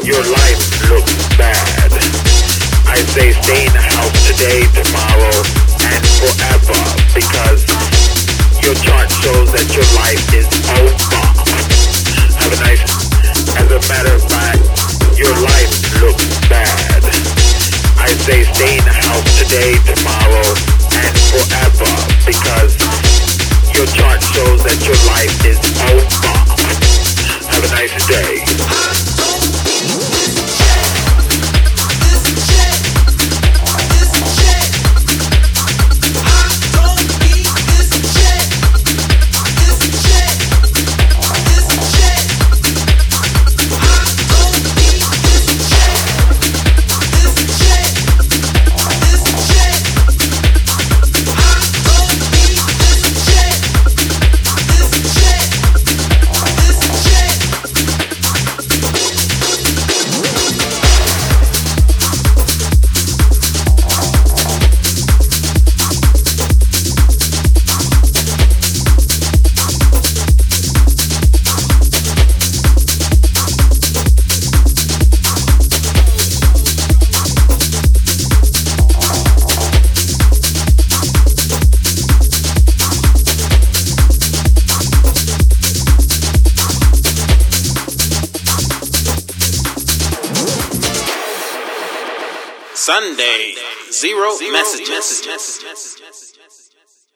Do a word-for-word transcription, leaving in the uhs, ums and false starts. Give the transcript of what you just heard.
your life looks bad. I say stay in the house today, tomorrow, and forever, because your chart shows that your life is over. Have a nice, as a matter of fact, your life looks bad. I say stay in the house today, tomorrow, and forever, because your chart shows that your life is over. Have a nice day. Sunday, zero, zero messages. messages.